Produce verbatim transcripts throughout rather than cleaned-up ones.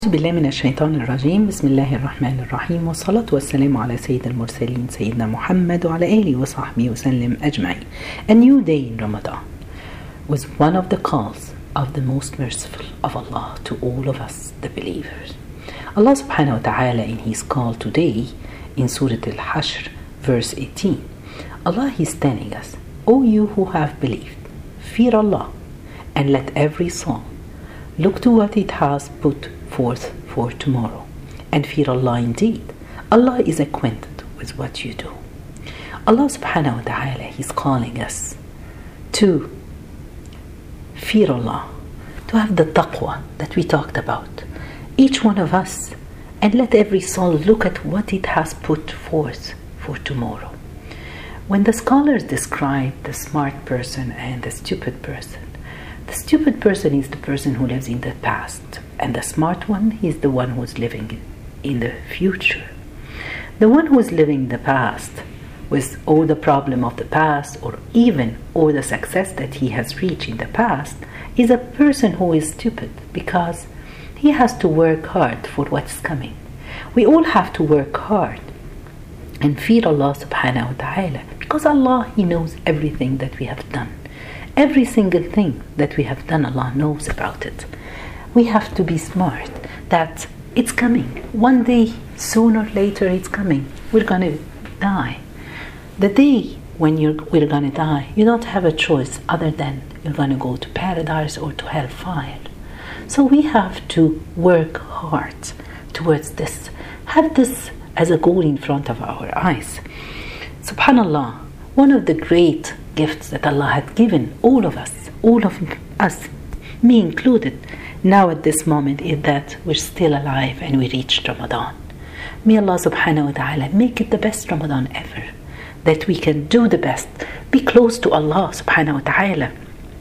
أعوذ بالله من الشيطان الرجيم. بسم الله الرحمن الرحيم، والصلاة والسلام على سيد المرسلين سيدنا محمد وعلى آله وصحبه وسلم أجمعين. A new day in Ramadan was one of the calls of the most merciful of Allah to all of us, the believers. Allah subhanahu wa ta'ala in his call today in Surah Al-Hashr verse eighteen, Allah is telling us, O you who have believed, fear Allah and let every soul look to what it has put forth for tomorrow, and fear Allah indeed. Allah is acquainted with what you do. Allah subhanahu wa ta'ala is calling us to fear Allah, to have the taqwa that we talked about, each one of us, and let every soul look at what it has put forth for tomorrow. When the scholars describe the smart person and the stupid person, the stupid person is the person who lives in the past, and the smart one is the one who is living in the future. The one who is living in the past with all the problem of the past, or even all the success that he has reached in the past, is a person who is stupid because he has to work hard for what's coming. We all have to work hard and fear Allah subhanahu wa ta'ala, because Allah, He knows everything that we have done. Every single thing that we have done, Allah knows about it. We have to be smart that it's coming. One day, sooner or later, it's coming. We're going to die. The day when you're, we're going to die, you don't have a choice other than you're going to go to paradise or to hellfire. So we have to work hard towards this. Have this as a goal in front of our eyes. Subhanallah, one of the great gifts that Allah had given all of us, all of us, me included, now at this moment, is that we're still alive and we reached Ramadan. May Allah subhanahu wa ta'ala make it the best Ramadan ever, that we can do the best, be close to Allah subhanahu wa ta'ala.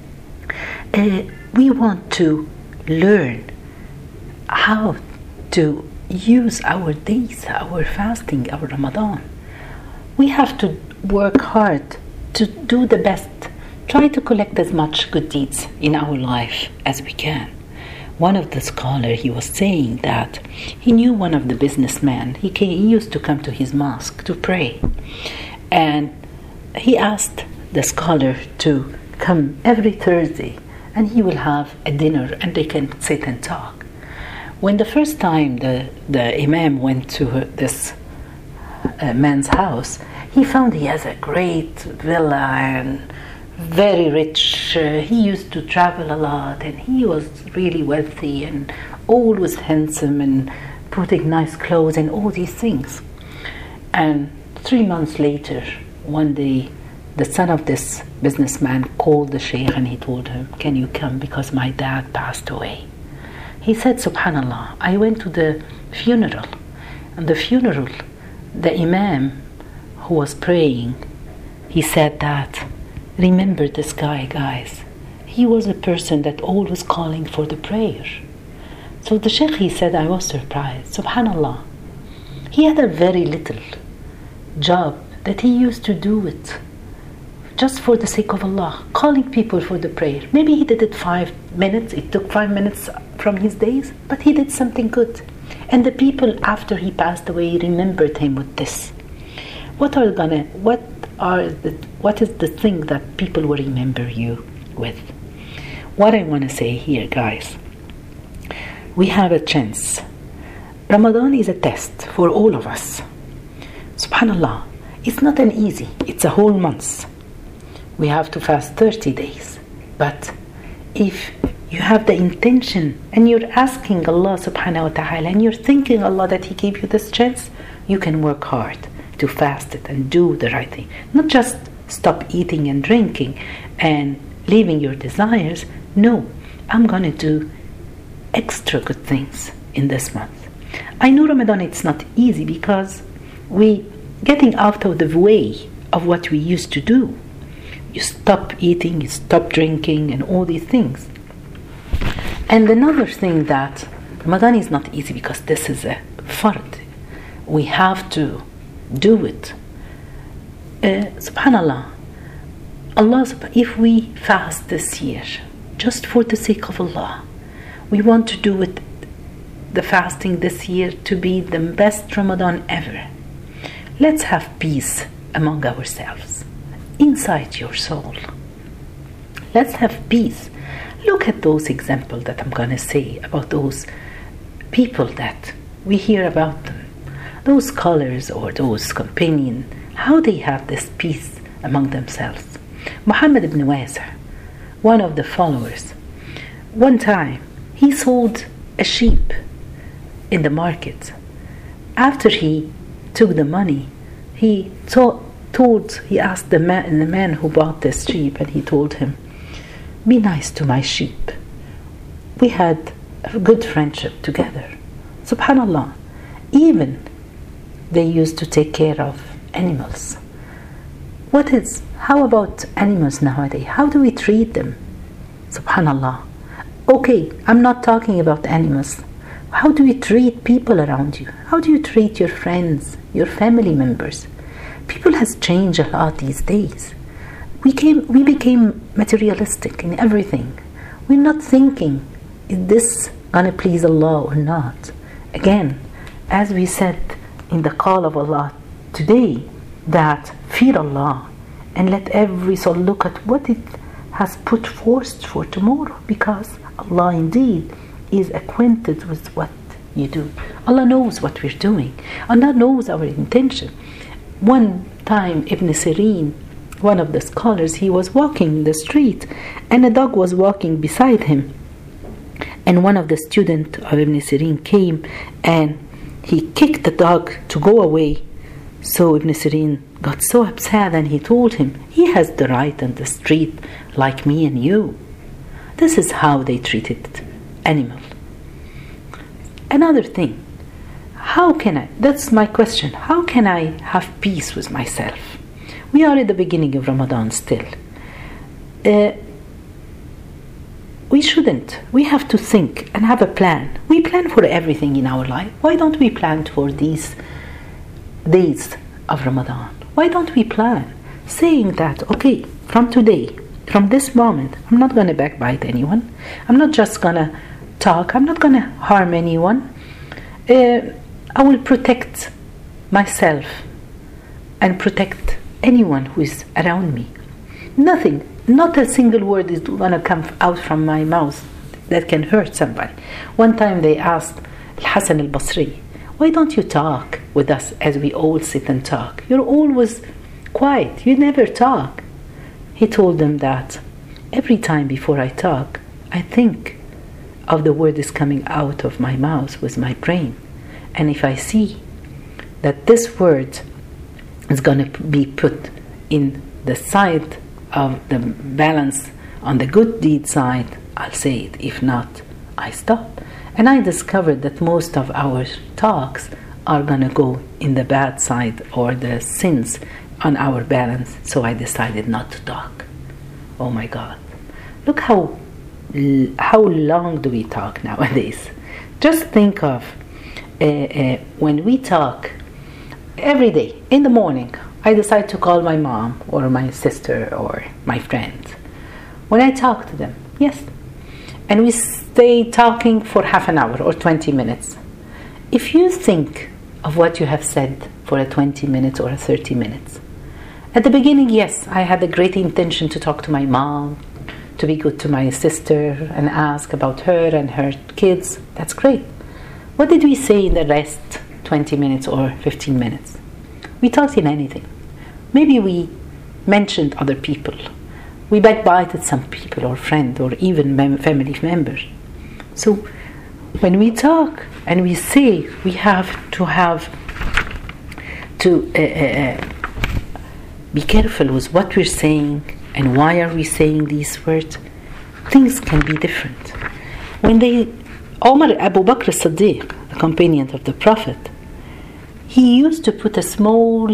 Uh, we want to learn how to use our days, our fasting, our Ramadan. We have to work hard to do the best, try to collect as much good deeds in our life as we can. One of the scholars, he was saying that he knew one of the businessmen. He, came, he used to come to his mosque to pray, and he asked the scholar to come every Thursday, and he will have a dinner and they can sit and talk. When the first time the, the imam went to this uh, man's house, he found he has a great villa and very rich. Uh, he used to travel a lot, and he was really wealthy and always handsome and putting nice clothes and all these things. And three months later, one day, the son of this businessman called the sheikh and he told him, "Can you come, because my dad passed away?" He said, "Subhanallah, I went to the funeral, and the funeral, the imam who was praying, he said that, remember this guy, guys. He was a person that always calling for the prayer." So the sheikh, he said, I was surprised. Subhanallah, he had a very little job that he used to do it just for the sake of Allah, calling people for the prayer. Maybe he did it five minutes. It took five minutes from his days, but he did something good. And the people after he passed away remembered him with this. What are gonna? What are the? What is the thing that people will remember you with? What I want to say here, guys, we have a chance. Ramadan is a test for all of us. Subhanallah, it's not an easy. It's a whole month. We have to fast thirty days. But if you have the intention and you're asking Allah subhanahu wa ta'ala and you're thanking Allah that He gave you this chance, you can work hard to fast it and do the right thing. Not just stop eating and drinking and leaving your desires. No, I'm going to do extra good things in this month. I know Ramadan, it's not easy because we getting out of the way of what we used to do. You stop eating, you stop drinking and all these things. And another thing, that Ramadan is not easy because this is a fard. We have to do it. Uh, Subhanallah, Allah, if we fast this year just for the sake of Allah, we want to do it the fasting this year to be the best Ramadan ever. Let's have peace among ourselves, inside your soul. Let's have peace. Look at those examples that I'm going to say about those people that we hear about them, those scholars or those companions, how they have this peace among themselves. Muhammad ibn Wasi', one of the followers, one time he sold a sheep in the market. After he took the money, he to- told, he asked the man, the man who bought this sheep, and he told him, "Be nice to my sheep. We had a good friendship together." Subhanallah. Even they used to take care of animals. What is, how about animals nowadays? How do we treat them? Subhanallah. Okay, I'm not talking about animals. How do you treat people around you? How do you treat your friends, your family members? People has changed a lot these days. We came, we became materialistic in everything. We're not thinking, is this gonna please Allah or not? Again, as we said in the call of Allah today, that fear Allah and let every soul look at what it has put forth for tomorrow, because Allah indeed is acquainted with what you do. Allah knows what we're doing. Allah knows our intention. One time Ibn Sirin, one of the scholars, he was walking in the street and a dog was walking beside him. And one of the students of Ibn Sirin came and he kicked the dog to go away. So Ibn Sirin got so upset and he told him, he has the right on the street like me and you. This is how they treated animals. Another thing, how can I, that's my question, how can I have peace with myself? We are at the beginning of Ramadan still. Uh, we shouldn't. We have to think and have a plan. We plan for everything in our life. Why don't we plan for these days of Ramadan? Why don't we plan? Saying that, okay, from today, from this moment, I'm not going to backbite anyone. I'm not just going to talk. I'm not going to harm anyone. Uh, I will protect myself and protect anyone who is around me. Nothing, not a single word is going to come out from my mouth that can hurt somebody. One time they asked Al-Hasan al-Basri, why don't you talk with us as we all sit and talk? You're always quiet. You never talk. He told them that every time before I talk, I think of the word is coming out of my mouth with my brain. And if I see that this word is going to be put in the side of the balance on the good deed side, I'll say it. If not, I stop. And I discovered that most of our talks are going to go in the bad side or the sins on our balance. So I decided not to talk. Oh my God. Look how how long do we talk nowadays? Just think of uh, uh, when we talk every day in the morning. I decide to call my mom or my sister or my friend. When I talk to them, yes, and we stay talking for half an hour or twenty minutes. If you think of what you have said for a twenty minutes or a thirty minutes, at the beginning, yes, I had a great intention to talk to my mom, to be good to my sister and ask about her and her kids. That's great. What did we say in the rest twenty minutes or fifteen minutes? We talked in anything. Maybe we mentioned other people. We backbited some people or friend or even mem- family members. So when we talk and we say, we have to have to uh, uh, be careful with what we're saying and why are we saying these words. Things can be different. When they, Omar Abu Bakr as-Siddiq, the companion of the Prophet, he used to put a small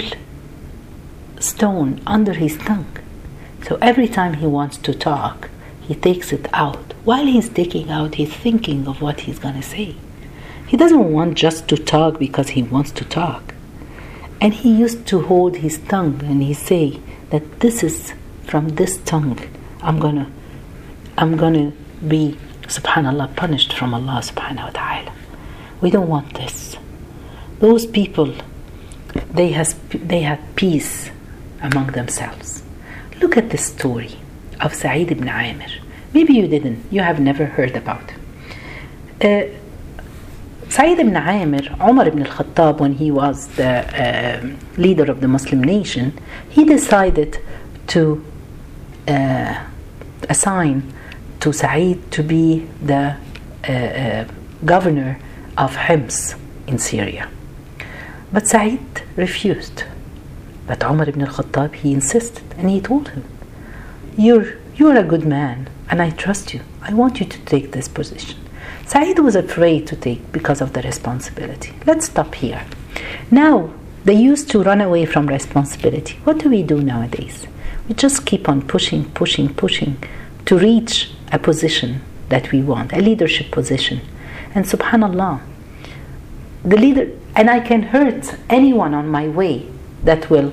stone under his tongue. So every time he wants to talk, he takes it out. While he's taking out, he's thinking of what he's going to say. He doesn't want just to talk because he wants to talk. And he used to hold his tongue and he say that this is from this tongue. I'm going to I'm going to be, subhanallah, punished from Allah subhanahu wa ta'ala. We don't want this. Those people, they, has, they had peace among themselves. Look at the story of Sa'id ibn Amir. Maybe you didn't, you have never heard about him. Uh, Sa'id ibn Amir, Umar ibn al-Khattab, when he was the uh, leader of the Muslim nation, he decided to uh, assign to Sa'id to be the uh, uh, governor of Hims in Syria. But Sa'id refused. But Umar ibn al-Khattab, he insisted, and he told him, you're, you're a good man, and I trust you. I want you to take this position. Sa'id was afraid to take because of the responsibility. Let's stop here. Now, they used to run away from responsibility. What do we do nowadays? We just keep on pushing, pushing, pushing to reach a position that we want, a leadership position. And subhanallah, the leader, and I can hurt anyone on my way that will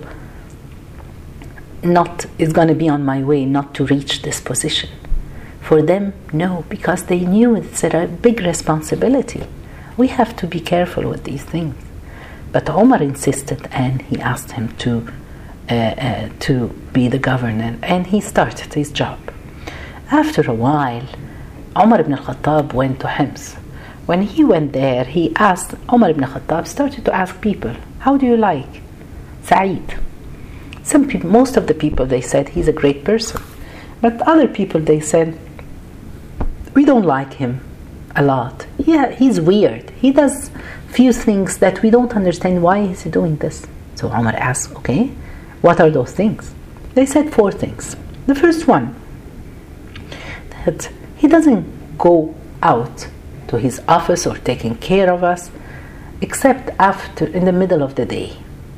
not, is going to be on my way not to reach this position. For them, no, because they knew it's a big responsibility. We have to be careful with these things. But Umar insisted, and he asked him to uh, uh, to be the governor, and he started his job. After a while, Umar ibn al-Khattab went to Hims. When he went there, he asked, Umar ibn al-Khattab started to ask people, how do you like Sa'id? Some people, most of the people, they said he's a great person. But other people, they said, we don't like him a lot. Yeah, he's weird. He does few things that we don't understand. Why is he doing this? So Umar asked, okay, what are those things? They said four things. The first one, that he doesn't go out to his office or taking care of us except after, in the middle of the day.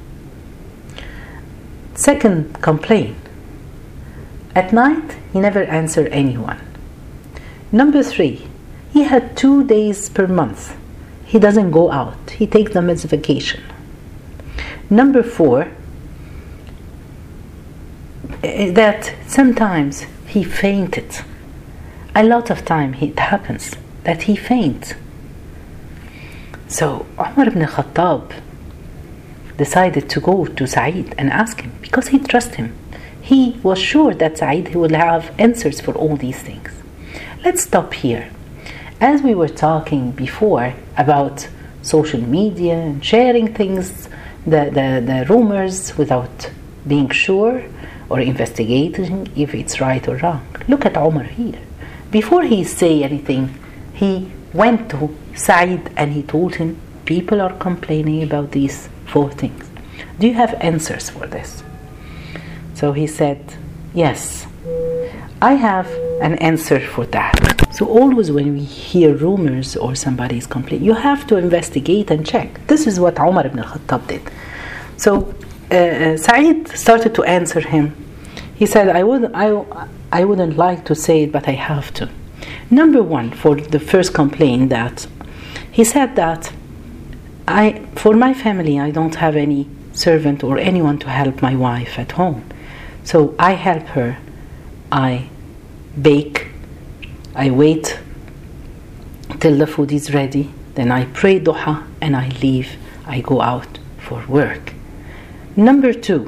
Second complaint, at night he never answered anyone. Number three, he had two days per month. He doesn't go out. He takes them as vacation. Number four, that sometimes he fainted. A lot of time it happens that he faints. So Umar ibn Khattab decided to go to Sa'id and ask him, because he trusted him. He was sure that Sa'id would have answers for all these things. Let's stop here. As we were talking before about social media and sharing things, the, the, the rumors without being sure or investigating if it's right or wrong. Look at Umar here. Before he say anything, he went to Sa'id and he told him, people are complaining about these four things. Do you have answers for this? So he said, yes, I have an answer for that. So always when we hear rumors or somebody is complaining, you have to investigate and check. This is what Umar ibn al-Khattab did. So uh, Sa'id started to answer him. He said, I, would, I, I wouldn't like to say it, but I have to. Number one, for the first complaint, that he said that I, for my family, I don't have any servant or anyone to help my wife at home. So I help her. I bake. I wait till the food is ready. Then I pray duha and I leave. I go out for work. Number two,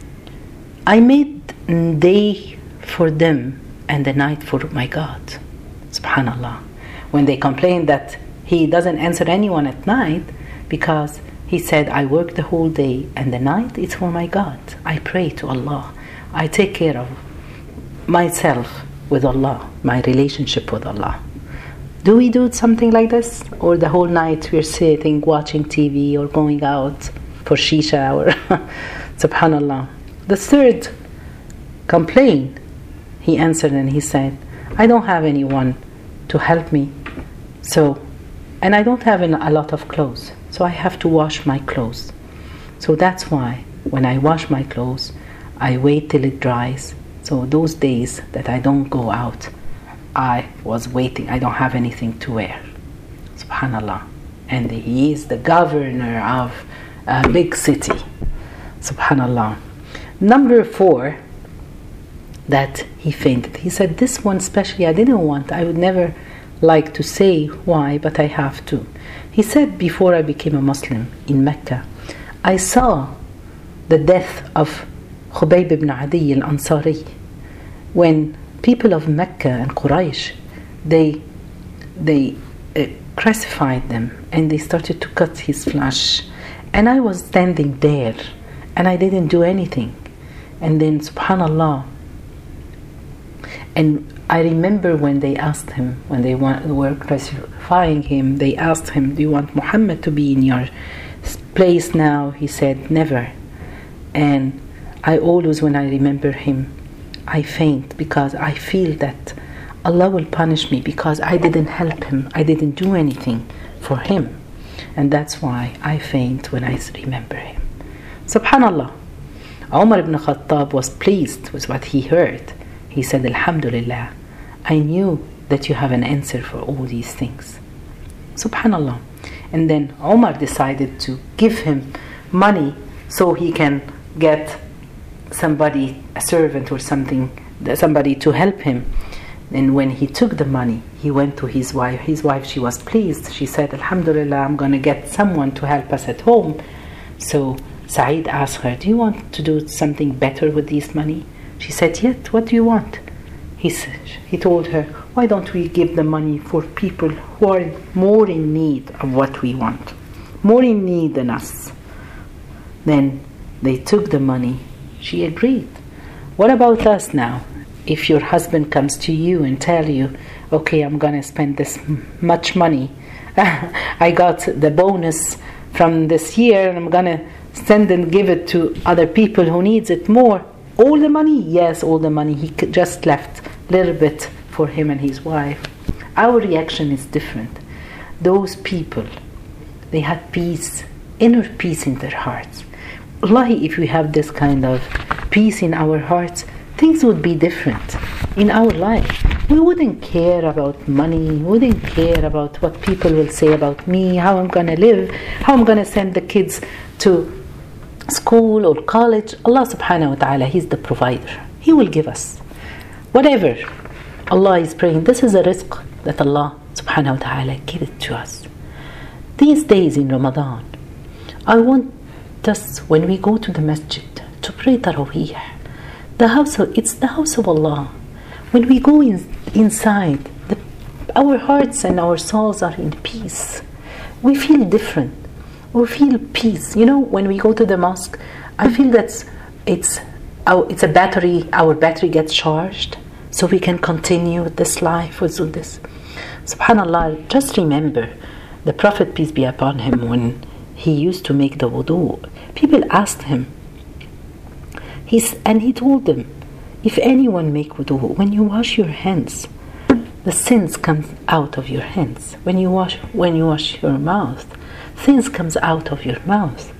I made day for them and the night for my God. Subhanallah. When they complain that he doesn't answer anyone at night, because he said, I work the whole day and the night it's for my God. I pray to Allah. I take care of myself with Allah, my relationship with Allah. Do we do something like this? Or the whole night we're sitting watching T V or going out for shisha or subhanallah. The third complaint, he answered and he said, I don't have anyone to help me. So, and I don't have a lot of clothes. So I have to wash my clothes. So that's why when I wash my clothes, I wait till it dries. So those days that I don't go out, I was waiting. I don't have anything to wear. Subhanallah. And he is the governor of a big city. Subhanallah. Number four, that he fainted. He said, this one especially I didn't want. I would never like to say why, but I have to. He said, before I became a Muslim in Mecca, I saw the death of Khubayb ibn Adi al-Ansari when people of Mecca and Quraysh, they they uh, crucified them and they started to cut his flesh, and I was standing there and I didn't do anything. And then subhanallah, and I remember when they asked him, when they were crucifying him, they asked him, do you want Muhammad to be in your place now? He said, never. And I always, when I remember him, I faint, because I feel that Allah will punish me because I didn't help him, I didn't do anything for him. And that's why I faint when I remember him. Subhanallah. Umar ibn Khattab was pleased with what he heard. He said, Alhamdulillah, I knew that you have an answer for all these things. Subhanallah. And then Umar decided to give him money so he can get somebody, a servant or something, somebody to help him. And when he took the money, he went to his wife. His wife, she was pleased. She said, Alhamdulillah, I'm going to get someone to help us at home. So Sa'id asked her, do you want to do something better with this money? She said, yes, what do you want? He said, he told her, why don't we give the money for people who are more in need of what we want, more in need than us? Then they took the money. She agreed. What about us now? If your husband comes to you and tell you, okay, I'm going to spend this much money. I got the bonus from this year and I'm going to send and give it to other people who needs it more. All the money? Yes, all the money. He just left a little bit for him and his wife. Our reaction is different. Those people, they had peace, inner peace in their hearts. Wallahi, if we have this kind of peace in our hearts, things would be different in our life. We wouldn't care about money, we wouldn't care about what people will say about me, how I'm going to live, how I'm going to send the kids to school or college. Allah subhanahu wa ta'ala, He's the provider. He will give us whatever Allah is praying. This is a rizq that Allah subhanahu wa ta'ala give it to us. These days in Ramadan, I want us, when we go to the masjid, to pray Taraweeh. The house of, it's the house of Allah. When we go in, inside, the, our hearts and our souls are in peace. We feel different. We feel peace. You know, when we go to the mosque, I feel that it's our, it's a battery. Our battery gets charged, so we can continue this life with this. Subhanallah. Just remember, the Prophet, peace be upon him, when he used to make the wudu, people asked him. He's, and he told them, if anyone make wudu, when you wash your hands, the sins come out of your hands. When you wash, when you wash your mouth, things comes out of your mouth,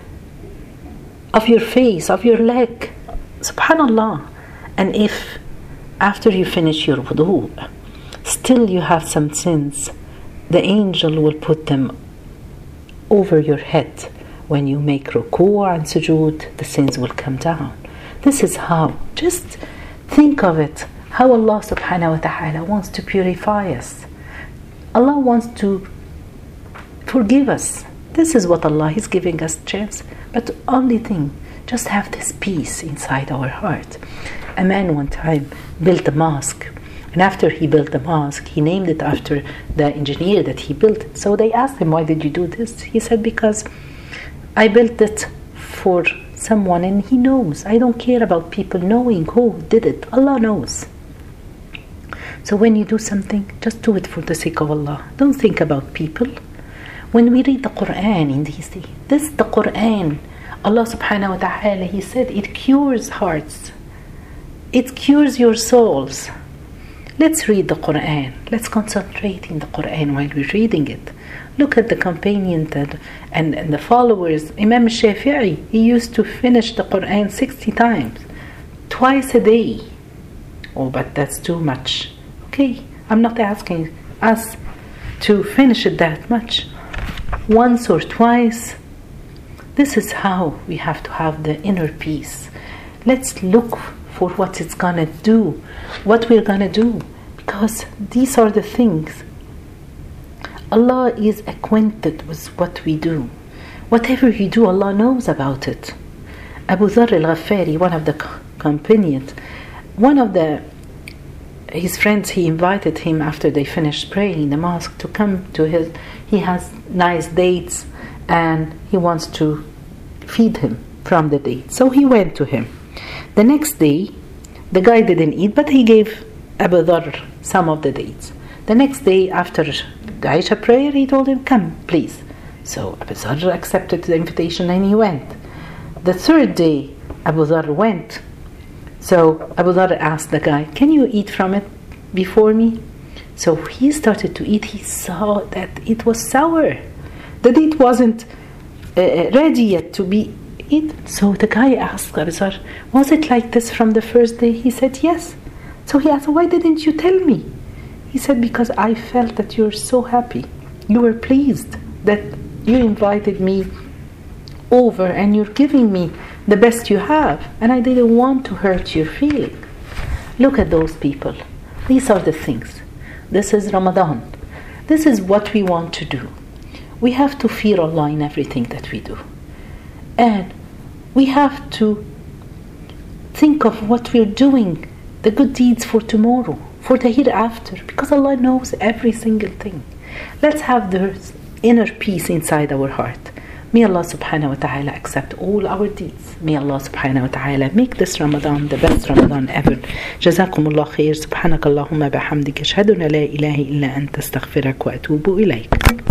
of your face, of your leg. Subhanallah. And if after you finish your wudu, still you have some sins, the angel will put them over your head. When you make ruku' and sujood, the sins will come down. This is how. Just think of it. How Allah subhanahu wa ta'ala wants to purify us. Allah wants to forgive us. This is what Allah is giving us chance. But the only thing, just have this peace inside our heart. A man one time built a mosque. And after he built the mosque, he named it after the engineer that he built it. So they asked him, why did you do this? He said, because I built it for someone and he knows. I don't care about people knowing who did it. Allah knows. So when you do something, just do it for the sake of Allah. Don't think about people. When we read the Quran in these days, this is the Quran. Allah subhanahu wa ta'ala, He said it cures hearts. It cures your souls. Let's read the Quran. Let's concentrate in the Quran while we're reading it. Look at the companions and, and, and the followers. Imam Shafi'i, he used to finish the Quran sixty times, twice a day. Oh, but that's too much. Okay, I'm not asking us to finish it that much. Once or twice. This is how we have to have the inner peace. Let's look for what it's gonna do, what we're gonna do, because these are the things Allah is acquainted with what we do. Whatever you do, Allah knows about it. Abu Dharr al-Ghafari, one of the companions, one of the his friends, he invited him after they finished praying in the mosque to come to his, he has nice dates and he wants to feed him from the dates. So he went to him. The next day, the guy didn't eat, but he gave Abu Dharr some of the dates. The next day, after the Isha prayer, he told him, come, please. So Abu Dharr accepted the invitation and he went. The third day, Abu Dharr went. So Abu Dharr asked the guy, can you eat from it before me? So he started to eat. He saw that it was sour. The date wasn't uh, ready yet to be eaten. So the guy asked Abu Dharr, was it like this from the first day? He said, yes. So he asked, why didn't you tell me? He said, because I felt that you're so happy. You were pleased that you invited me over and you're giving me the best you have, and I didn't want to hurt your feeling. Look at those people. These are the things. This is Ramadan. This is what we want to do. We have to fear Allah in everything that we do. And we have to think of what we're doing, the good deeds for tomorrow, for the hereafter, because Allah knows every single thing. Let's have the inner peace inside our heart. May Allah subhanahu wa ta'ala accept all our deeds. May Allah subhanahu wa ta'ala make this Ramadan the best Ramadan ever. Jazakumullah khair. Subhanakallahumma bihamdika ashhadu an la ilaha illa anta astaghfiruka wa atubu ilayk.